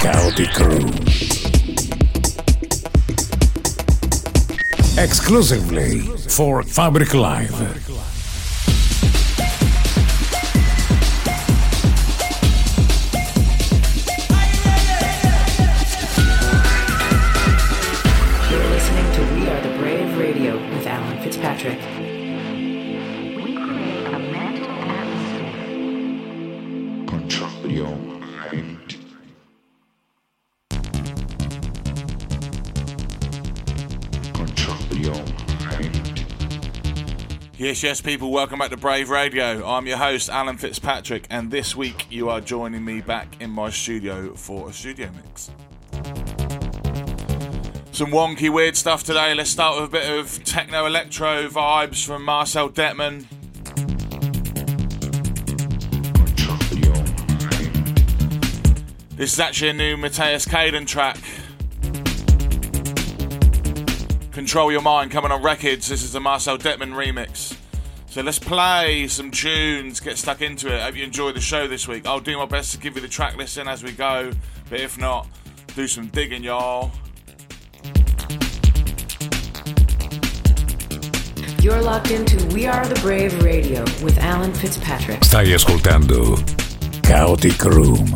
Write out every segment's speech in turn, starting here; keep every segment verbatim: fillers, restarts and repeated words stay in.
Chaotic Room. Exclusively for Fabric Live. Fitzpatrick. We create a mental atmosphere. Control your mind. Control your mind. Yes, yes, people, welcome back to Brave Radio. I'm your host, Alan Fitzpatrick, and this week you are joining me back in my studio for a studio mix. Some wonky, weird stuff today. Let's start with a bit of techno-electro vibes from Marcel Detman. This is actually a new Matthias Kaden track. Control Your Mind, coming on Records. This is the Marcel Detman remix. So let's play some tunes, get stuck into it. Hope you enjoy the show this week. I'll do my best to give you the track listing as we go, but if not, do some digging, y'all. You're locked into We Are the Brave Radio with Alan Fitzpatrick. Stai ascoltando Chaotic Room.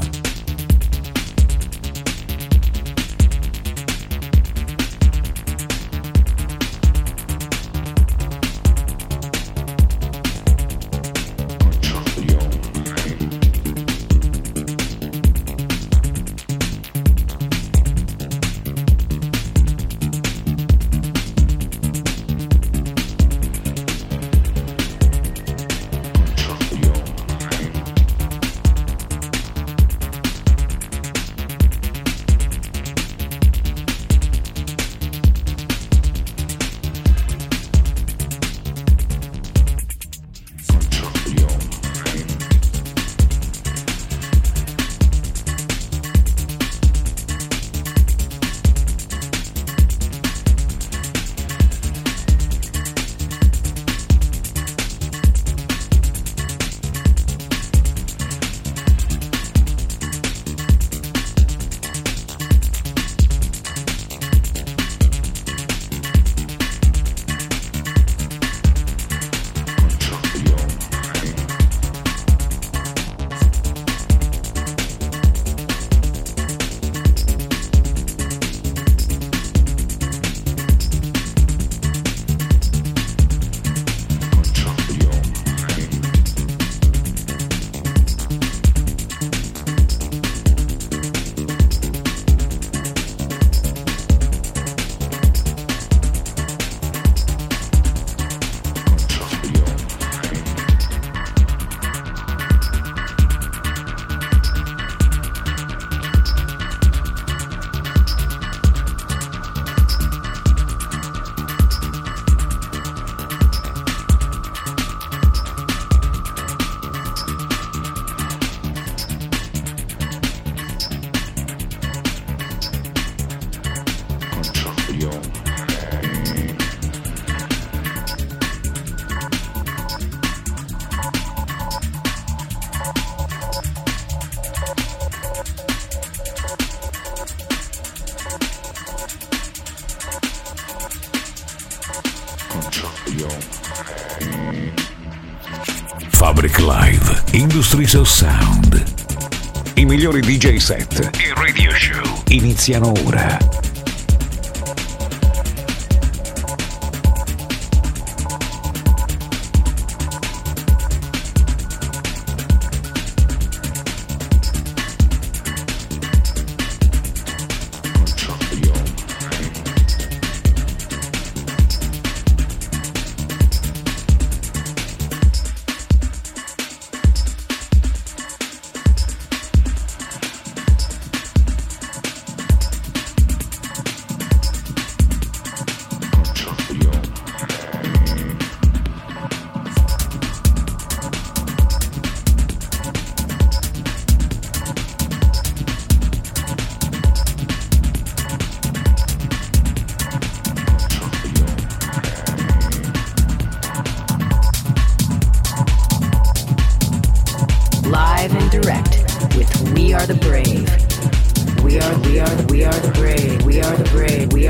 Fabric Live, Industries of Sound. I migliori D J set e radio show iniziano ora.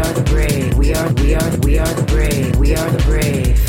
are the brave. We are, we are, we are the brave. We are the brave.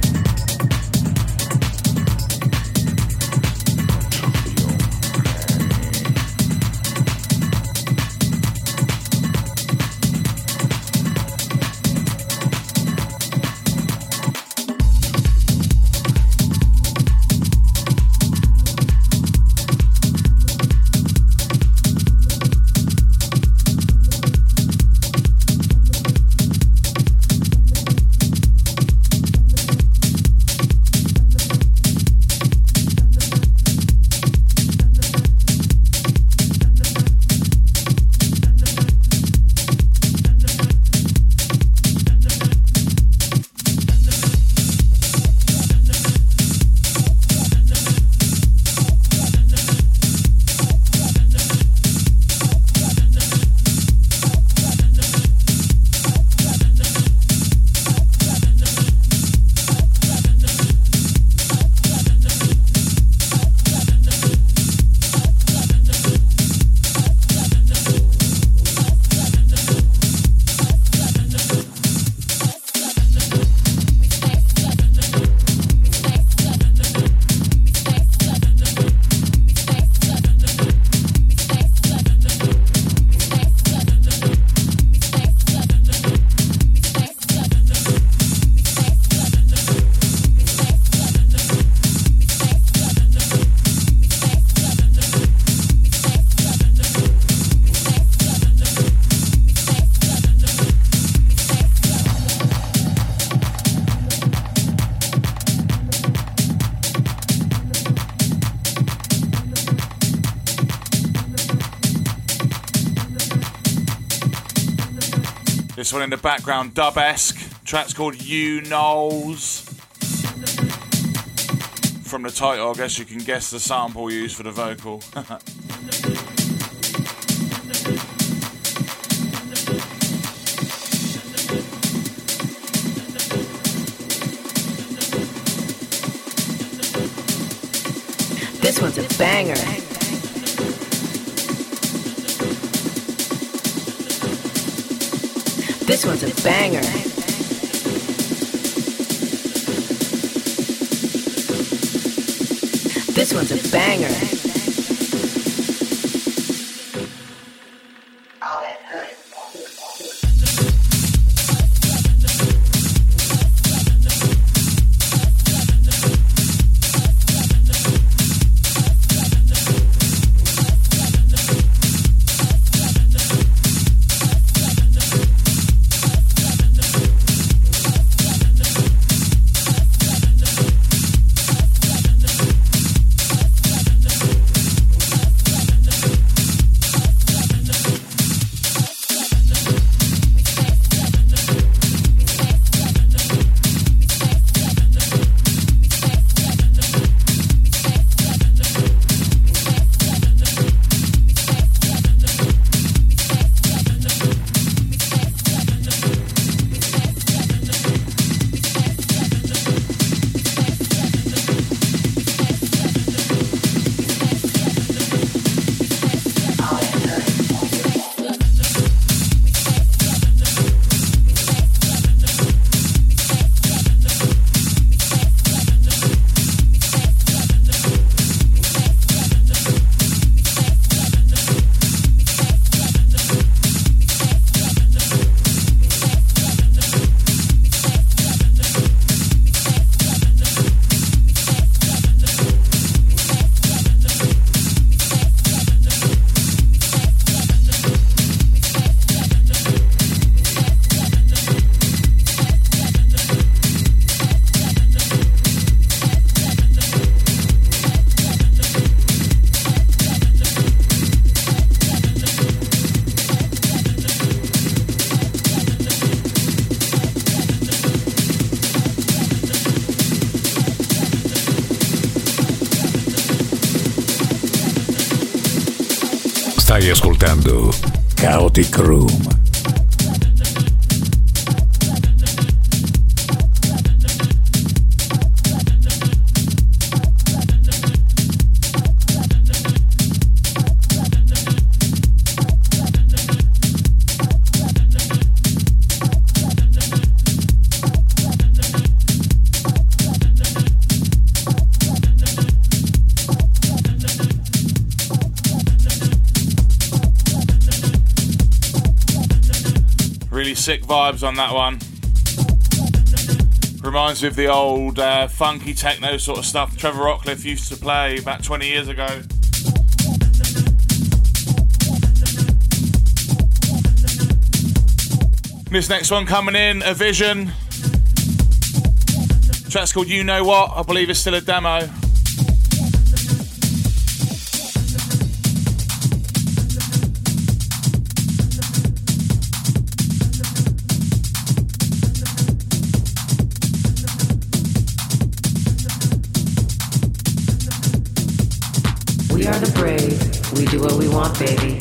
This one in the background, dub-esque. Track's called You Knows. From the title, I guess you can guess the sample used for the vocal. This one's a banger. This one's a banger. This one's a banger. Stai ascoltando Chaotic Room. sick vibes on that one. Reminds me of the old uh, funky techno sort of stuff Trevor Rockcliffe used to play about twenty years ago. This next one coming in, A Vision. The track's called You Know What. I believe it's still a demo. We are the brave. We do what we want, baby.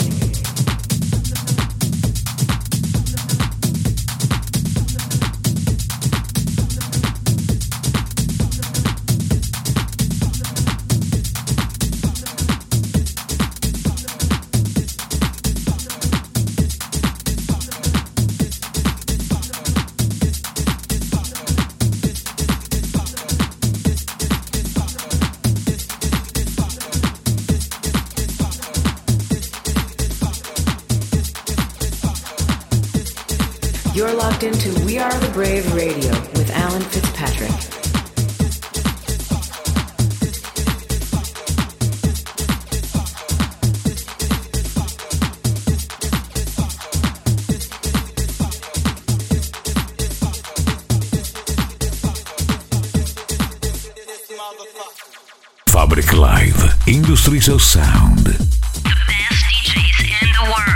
You're locked into We Are the Brave Radio with Alan Fitzpatrick. Fabric Live, Industries of Sound. The best D Js in the world.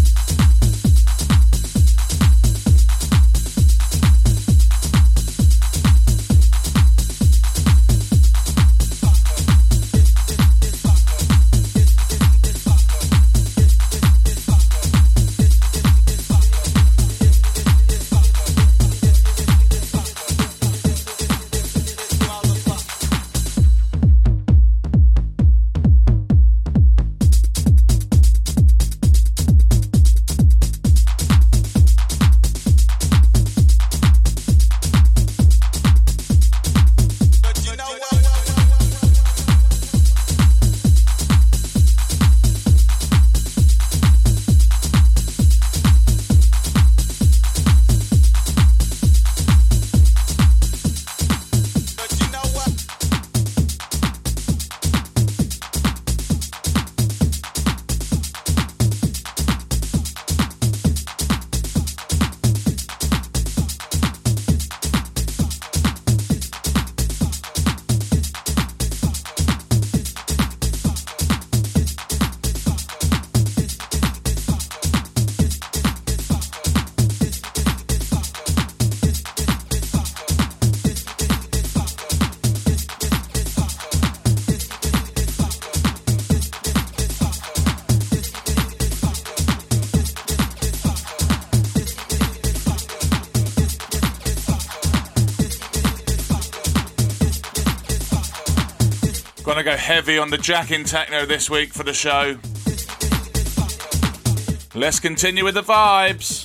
Gonna go heavy on the Jack-in techno this week for the show. Let's continue with the vibes.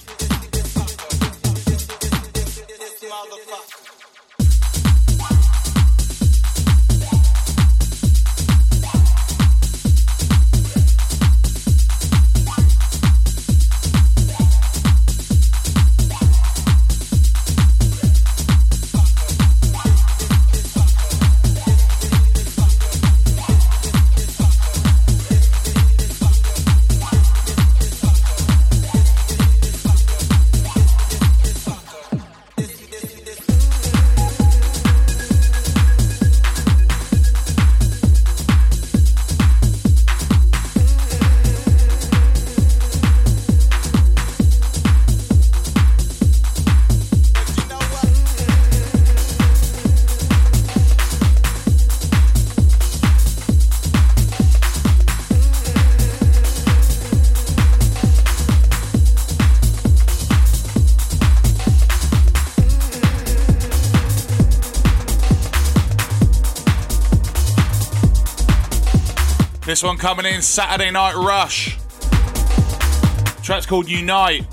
This one coming in, Saturday Night Rush. Track's called Unite.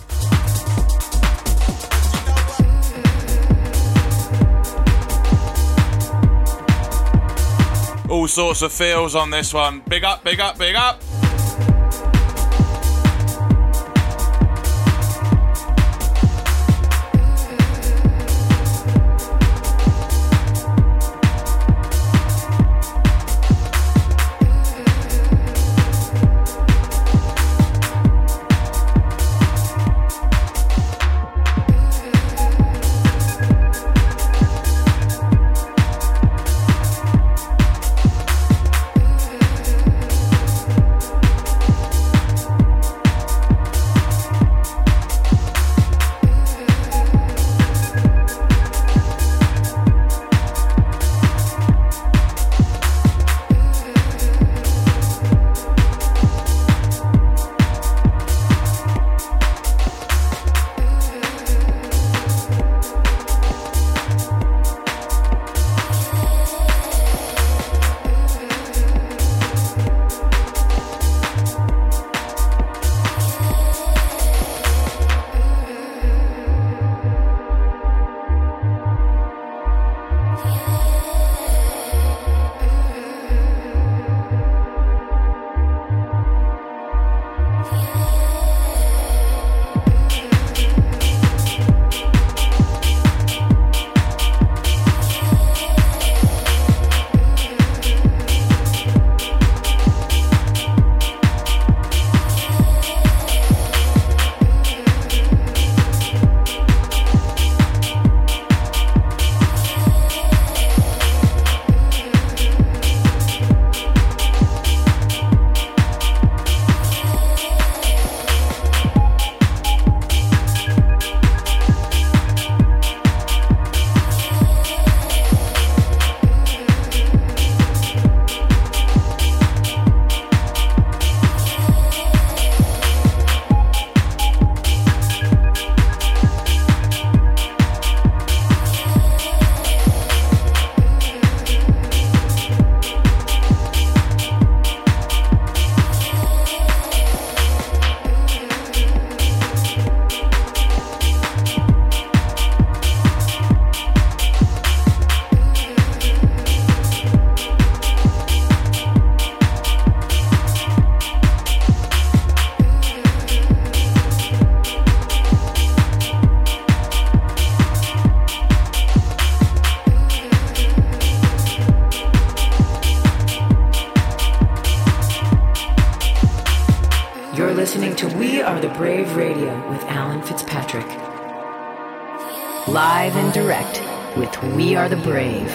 All sorts of feels on this one. Big up, big up, big up. Brave Radio with Alan Fitzpatrick. Live and direct with We Are the Brave.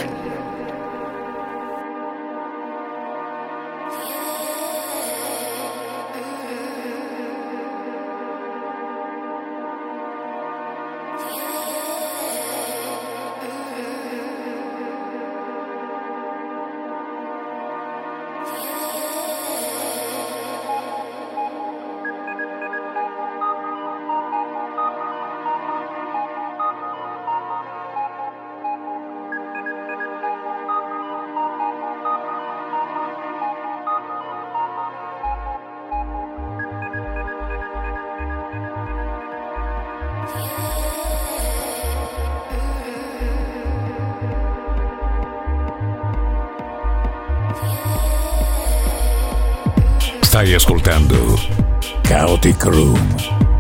Stai ascoltando Chaotic Room.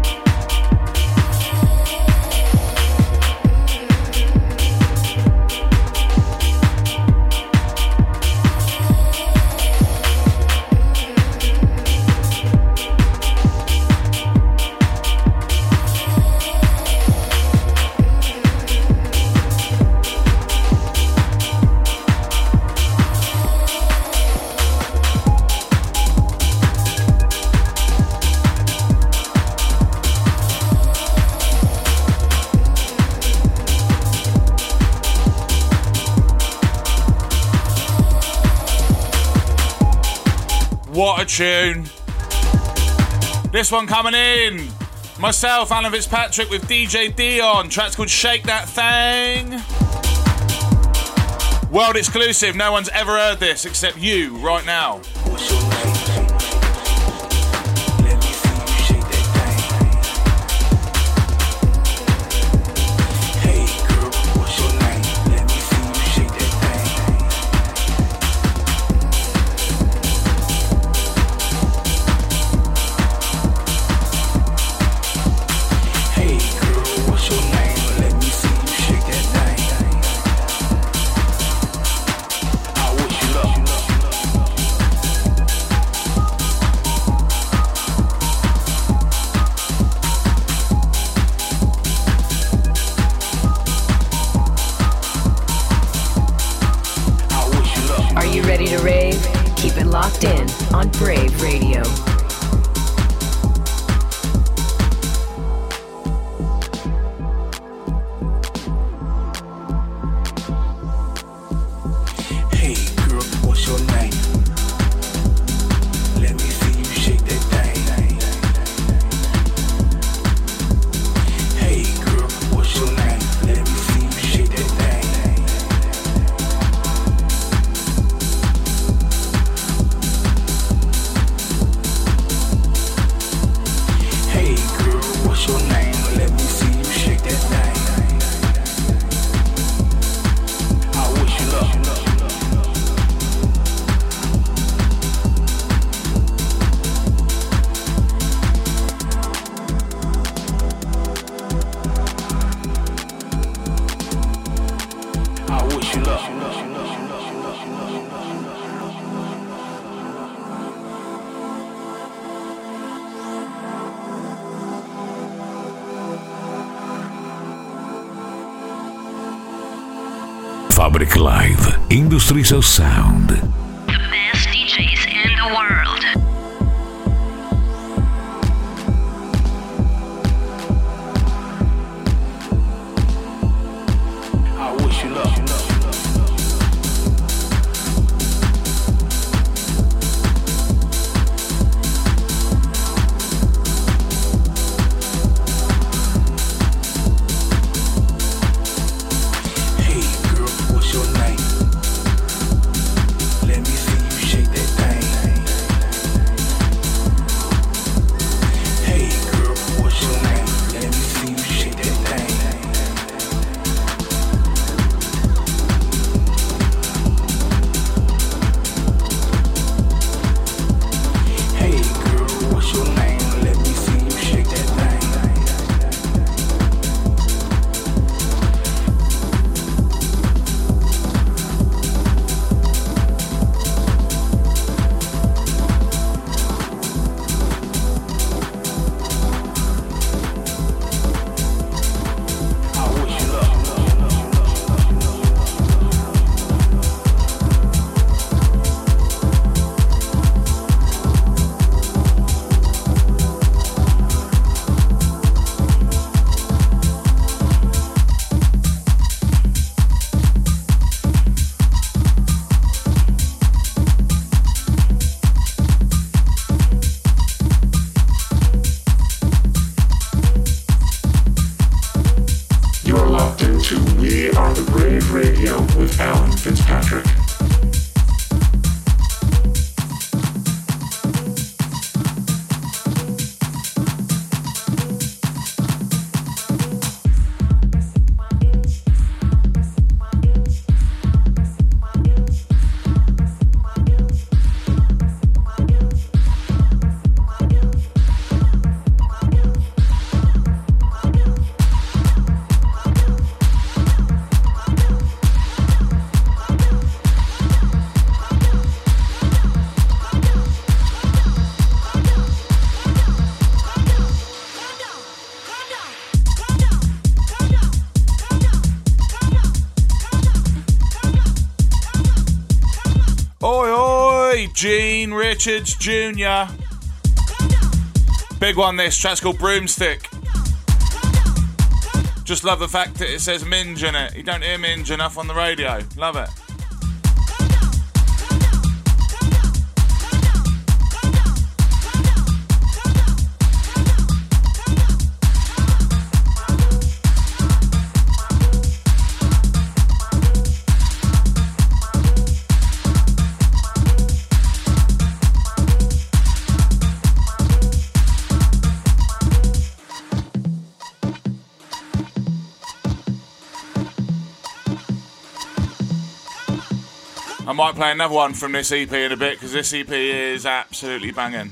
What a tune. This one coming in. Myself, Alan Fitzpatrick, with D J Dion. Track's called Shake That Thing. World exclusive. No one's ever heard this except you right now. What's your name? Let me see you shake that thing. Hey girl, what's your name? Let me see you shake that thing. Hey girl, what's your name? Let me see you shake that thing. I wish you luck. Are you ready to rave? Keep it locked in on Brave Radio. Hey girl, what's your name? Let me see you shake that thing. Hey girl, what's your name? Let me see you shake that thing. Hey girl, what's your name? Let me see you shake that thing. I wish you luck. I wish you luck. Fabric Live, Industries of Sound. The best D Js in the world. I wish you luck. Hey girl, what's your name? Let me see you shake that thing. Hey girl, what's your name? Let me see you shake that thing. Hey girl, what's your name? Let me see you shake that thing. Brave Radio with Alan Fitzpatrick. Gene Richards Junior Big one, this track's called Broomstick. Just love the fact that it says Minge in it. You don't hear Minge enough on the radio. Love it. I might play another one from this E P in a bit because this E P is absolutely banging.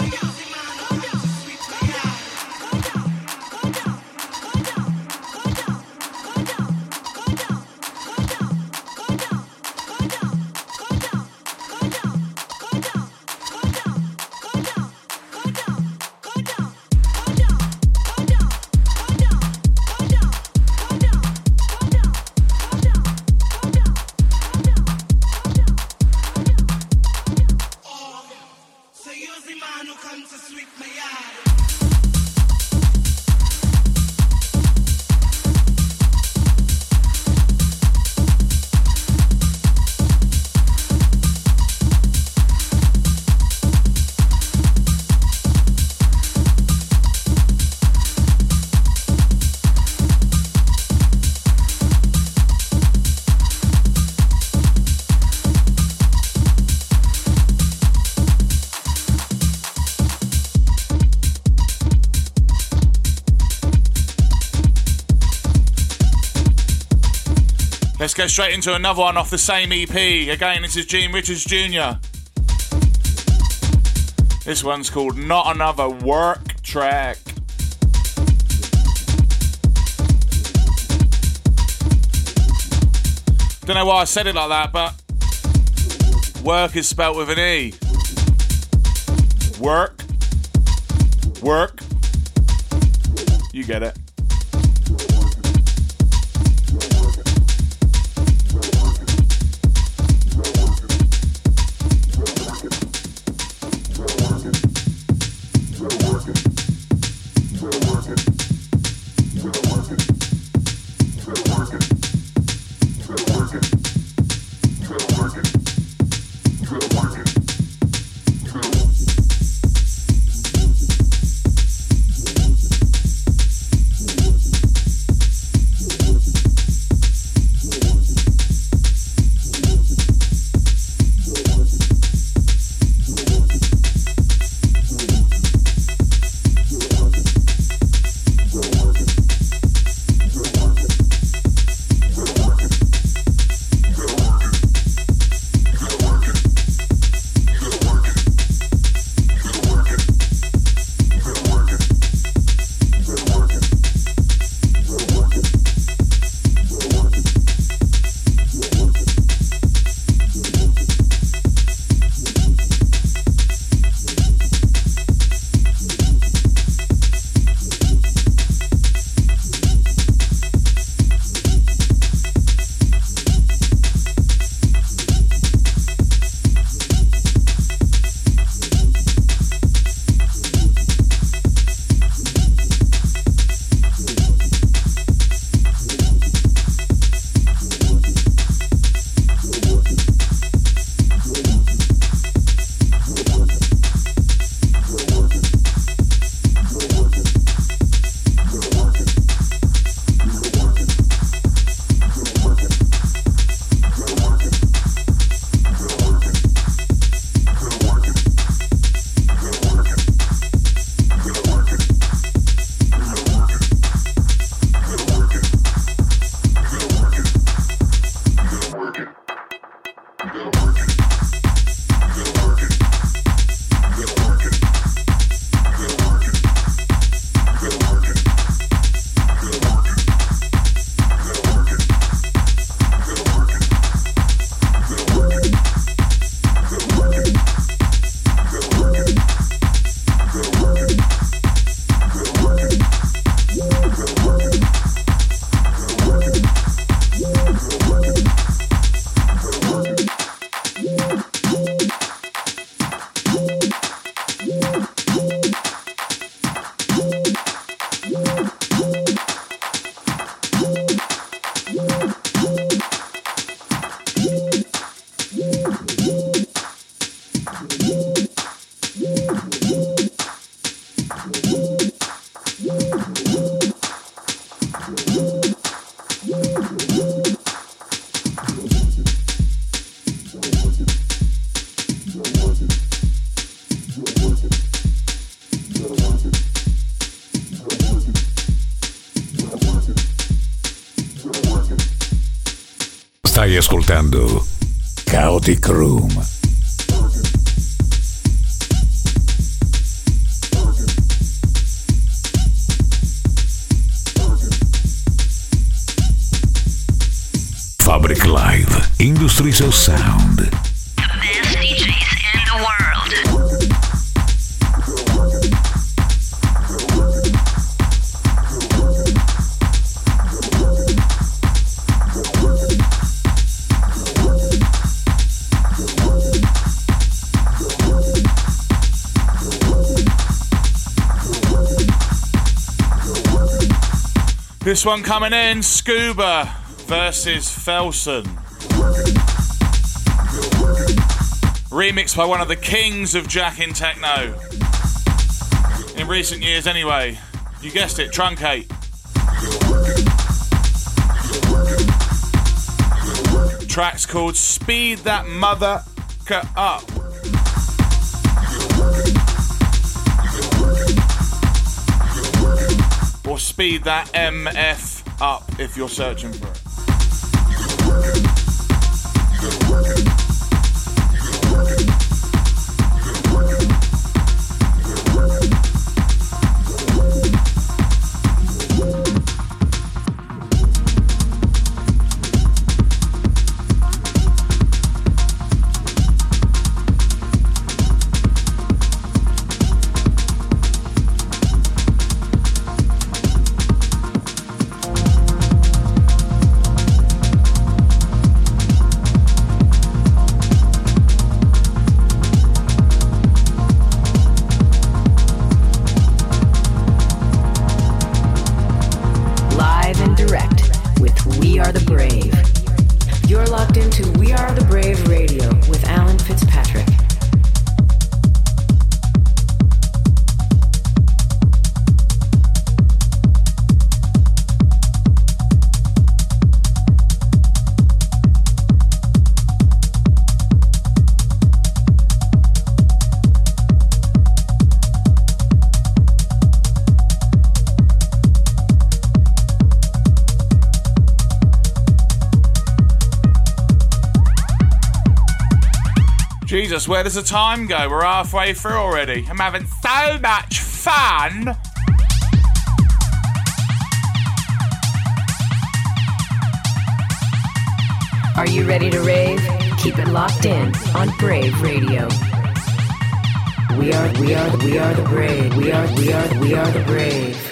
Let's go straight into another one off the same E P. Again, this is Gene Richards Junior This one's called Not Another Work Track. Don't know why I said it like that, but work is spelt with an E. Work. Work. You get it. Stai ascoltando Chaotic Room. Fabric Live, Industries of Sound. The best D Js in the world. This one coming in, Scuba versus Felson. Remixed by one of the kings of jacking techno. In recent years anyway. You guessed it, Truncate. Track's called Speed That Mother Up. Or Speed That M F Up if you're searching for it. Jesus, where does the time go? We're halfway through already. I'm having so much fun. Are you ready to rave? Keep it locked in on Brave Radio. We are, we are, we are the brave. We are, we are, we are the brave.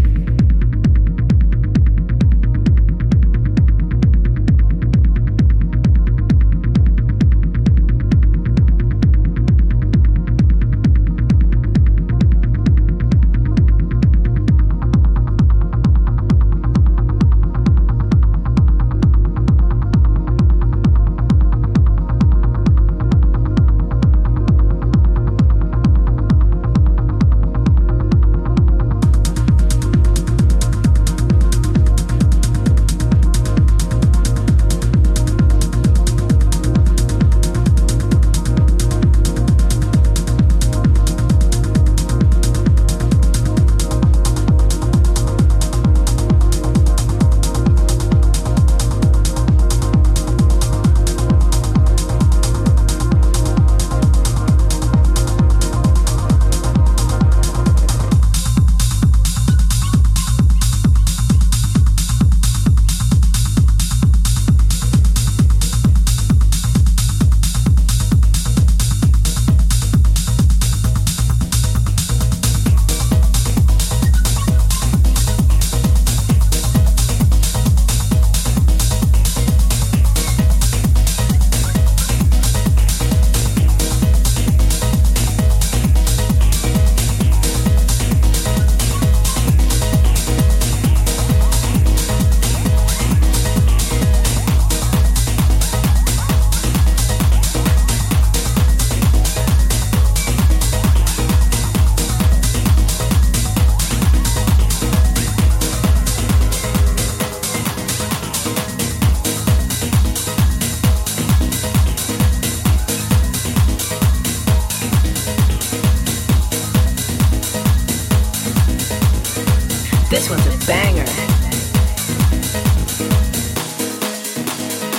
This one's a banger.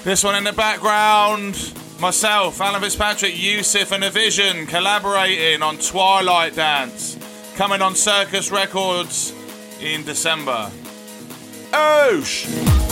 This one in the background, myself, Alan Fitzpatrick, Yusuf and Avision collaborating on Twilight Dance, coming on Circus Records in December. Oosh!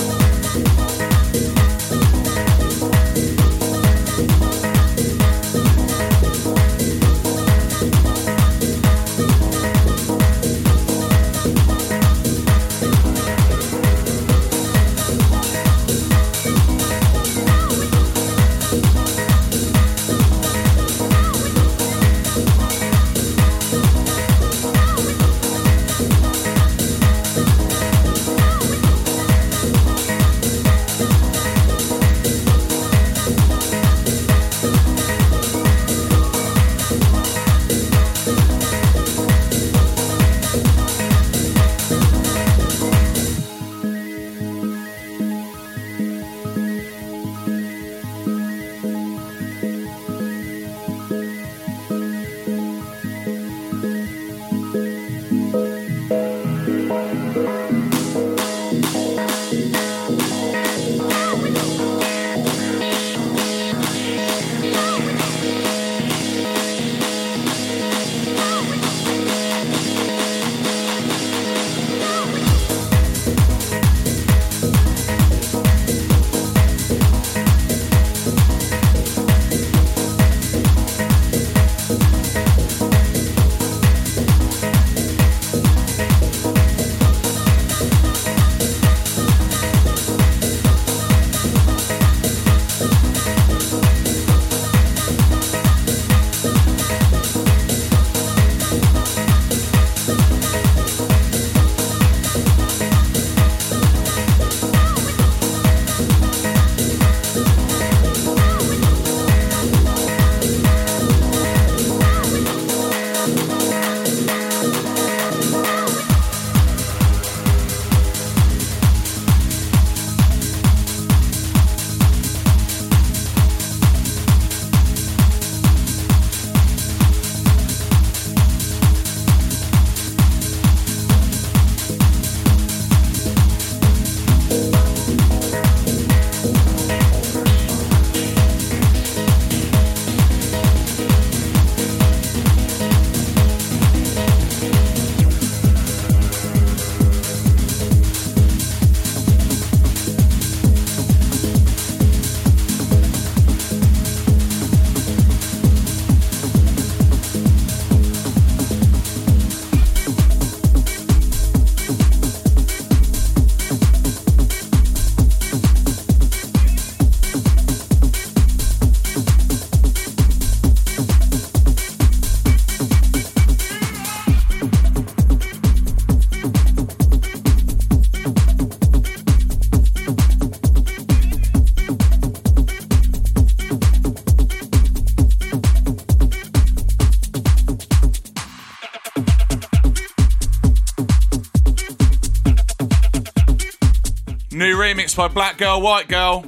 New remix by Black Girl, White Girl.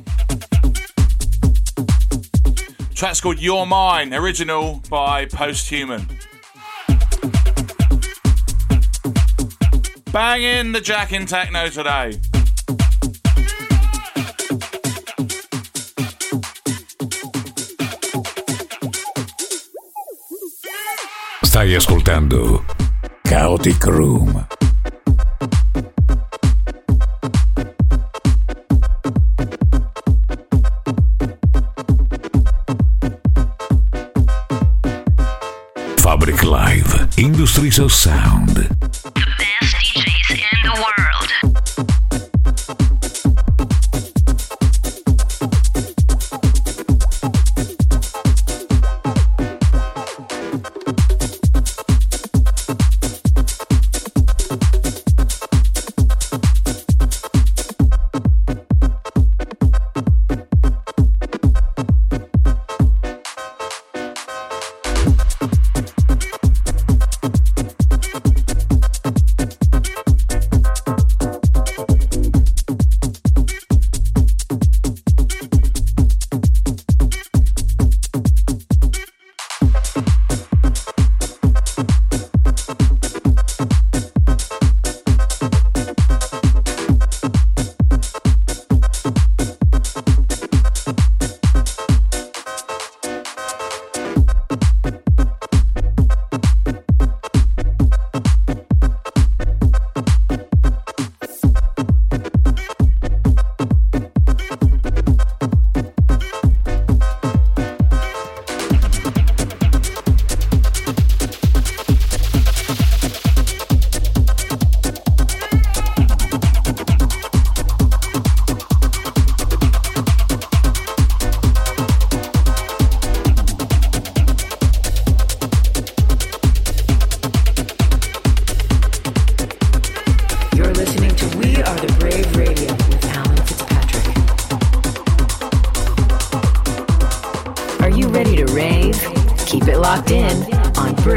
Track's called You're Mine, original by Posthuman. Banging the jack in techno today. Stai ascoltando Chaotic Room. Fabric Live, Industries of Sound. The best D Js in the world.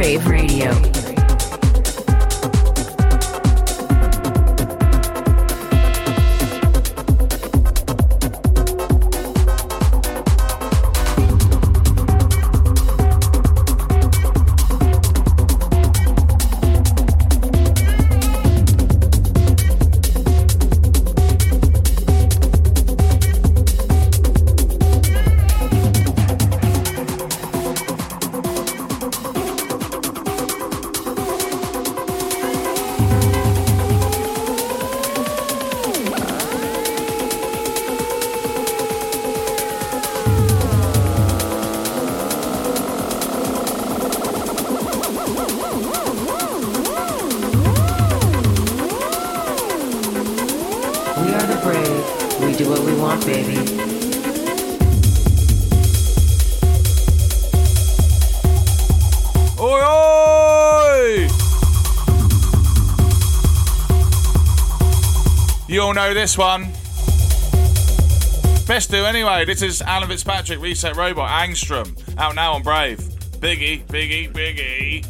Brave Radio. Know this one. Best do anyway. This is Alan Fitzpatrick, Reset Robot, Angstrom, out now on Brave. Biggie, Biggie, Biggie.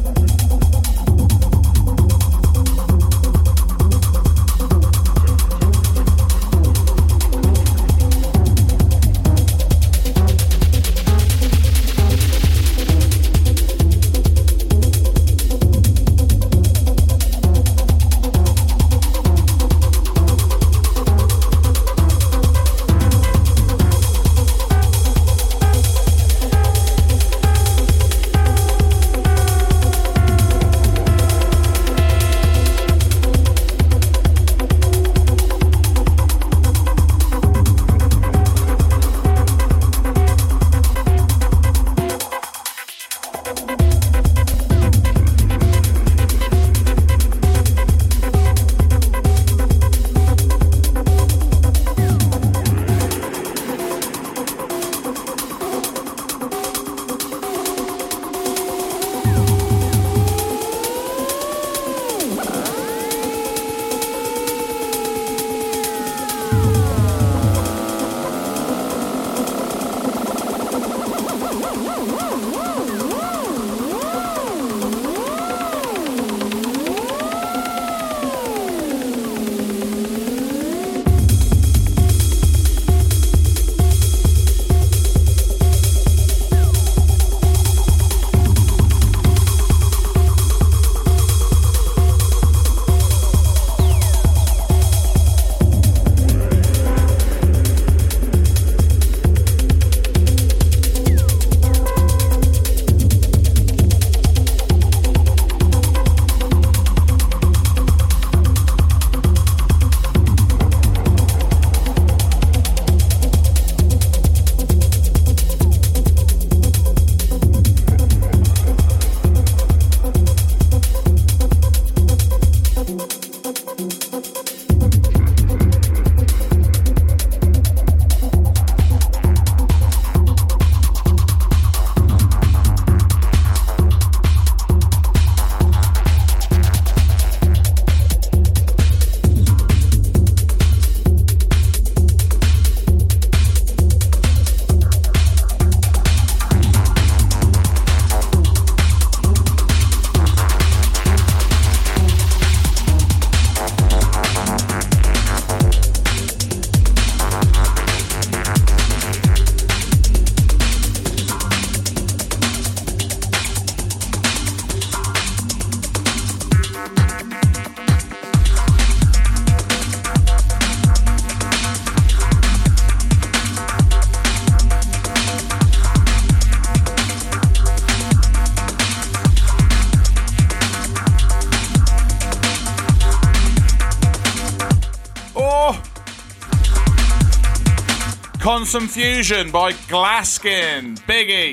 Consum Fusion by Glaskin. Biggie.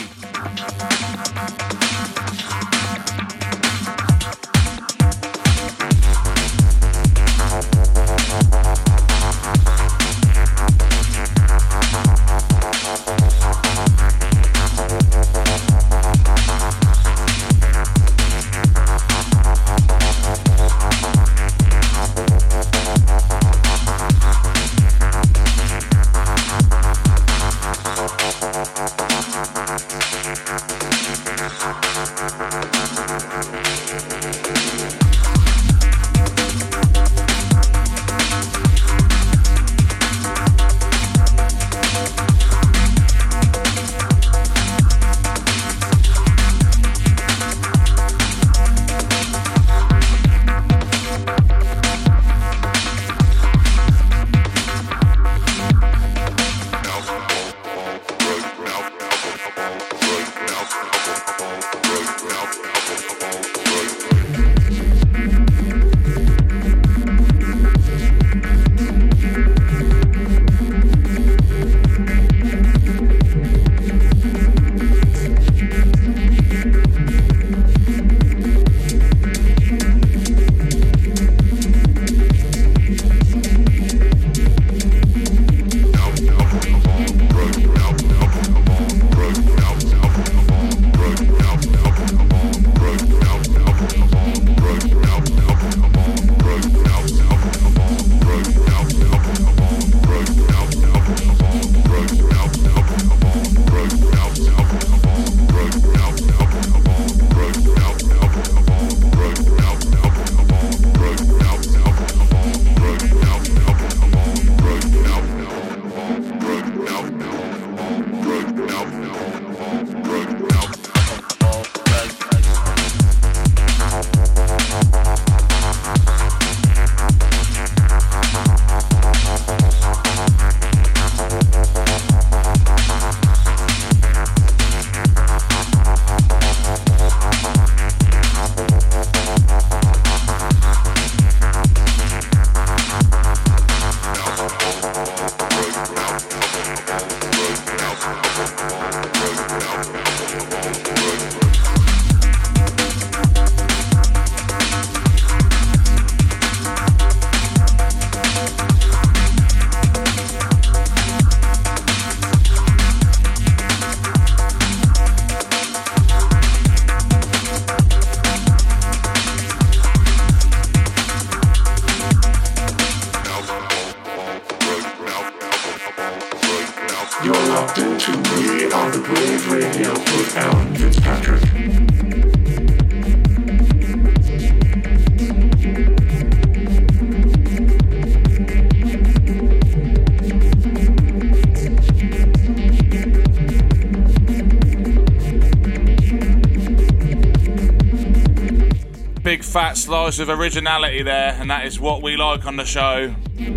fat slice of originality there, and that is what we like on the show.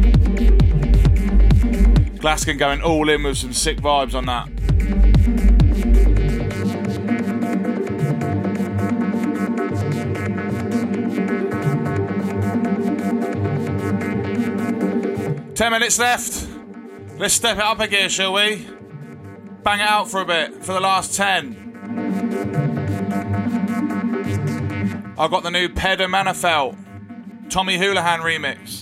Glaskin going all in with some sick vibes on that. Ten minutes left. Let's step it up a gear, shall we? Bang it out for a bit, for the last ten. I've got the new Pedder Manafelt, Tommy Houlihan remix.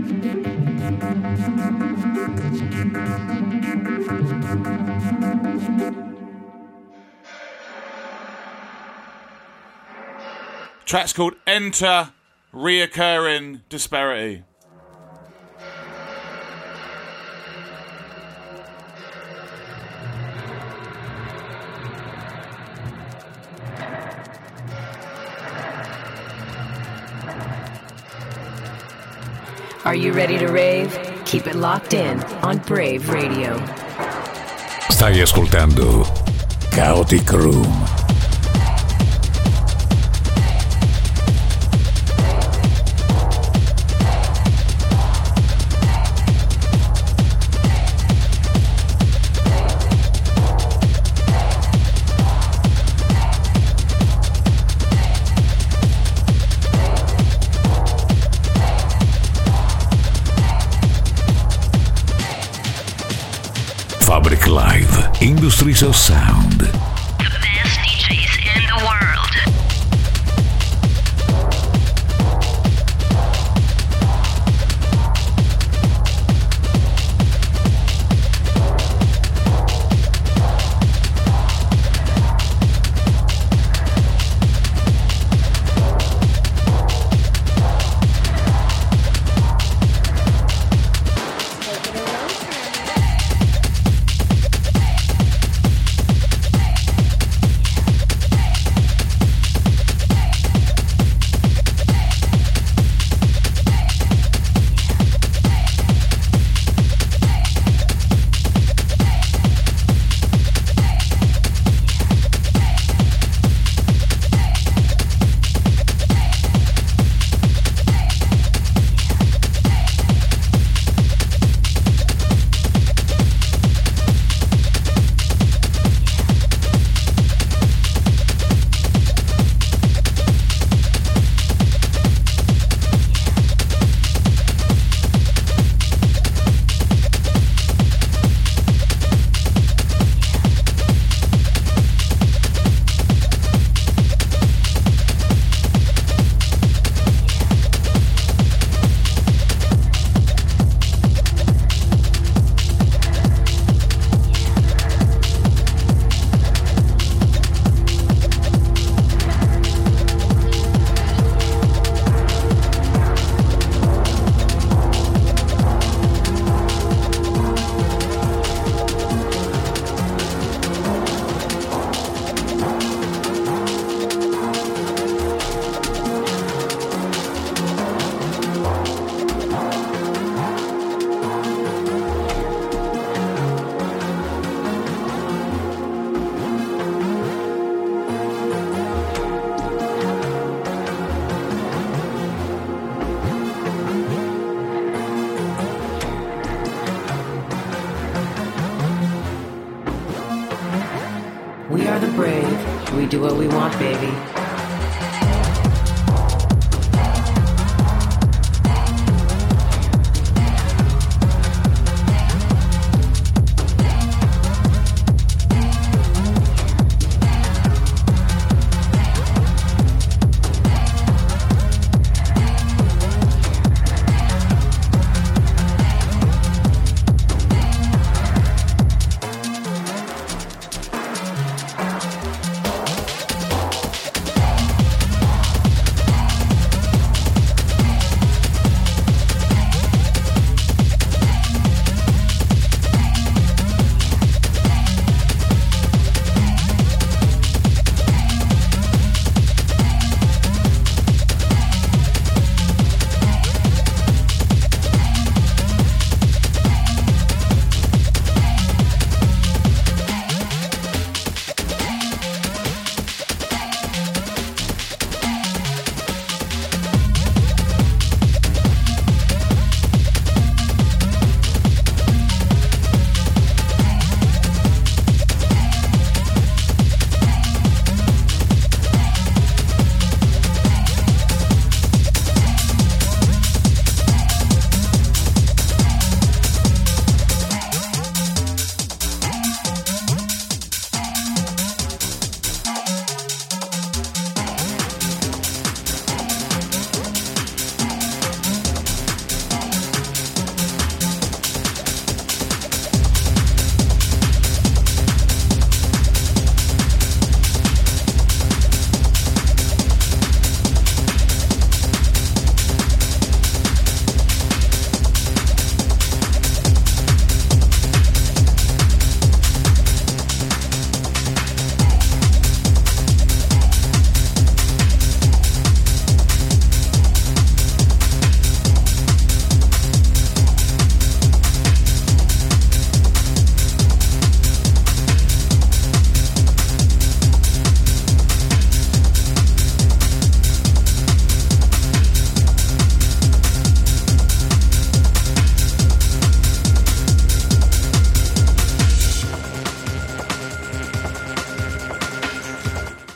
Track's called Enter Reoccurring Disparity. Are you ready to rave? Keep it locked in on Brave Radio. Stai ascoltando Chaotic Room. Fabric Live, Industries of Sound. The best D Js in the world. We are the brave. We do what we want, baby.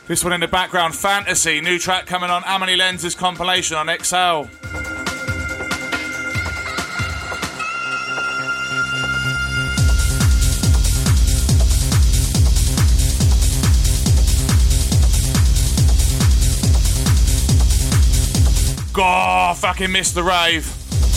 This one in the background, Fantasy, new track coming on Amelie Lenz's compilation on X L. God, fucking missed the rave.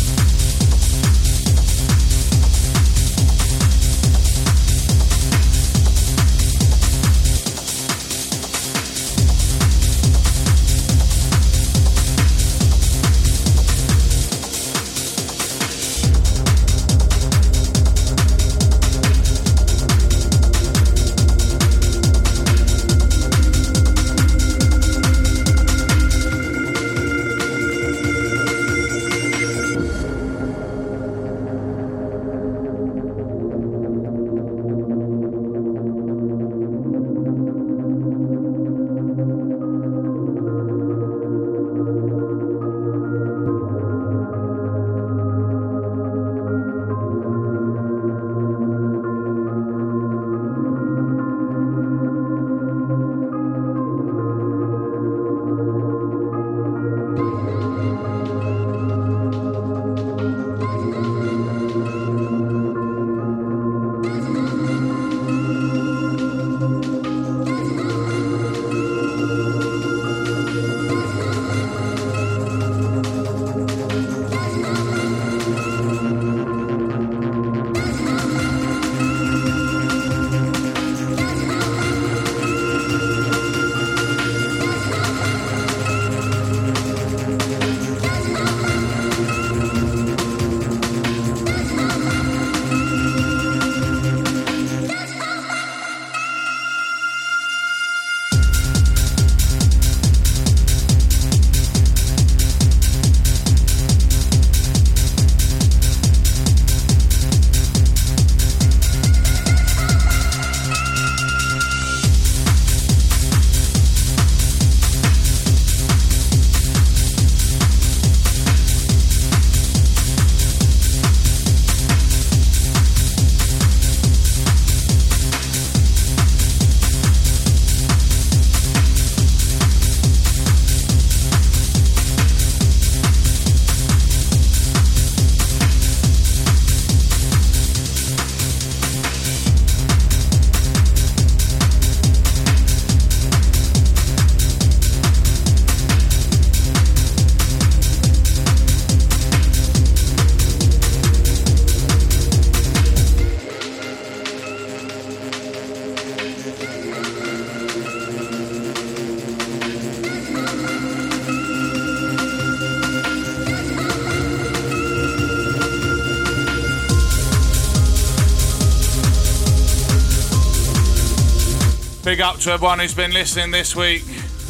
Big up to everyone who's been listening this week.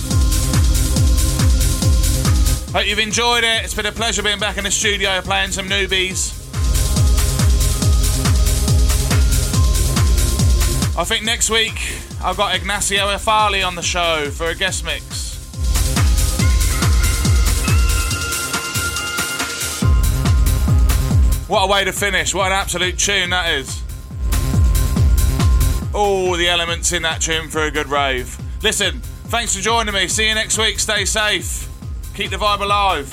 Hope you've enjoyed it. It's been a pleasure being back in the studio playing some newbies. I think next week I've got Ignacio Efali on the show for a guest mix. What a way to finish. What an absolute tune that is. All the elements in that tune for a good rave. Listen, thanks for joining me. See you next week. Stay safe. Keep the vibe alive.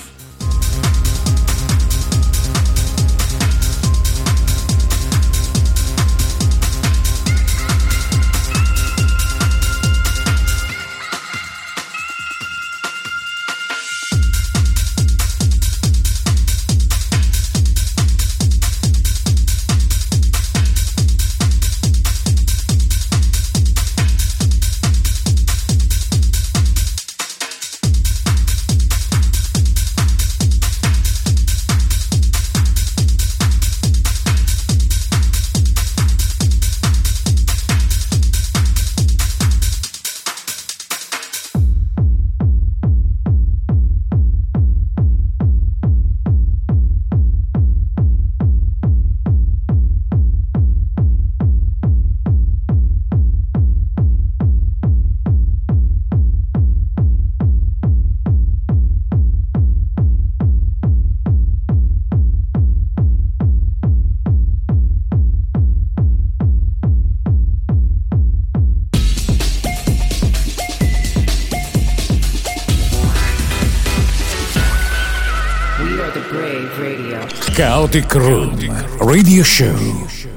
Brave Radio. Chaotic Room Radio Show.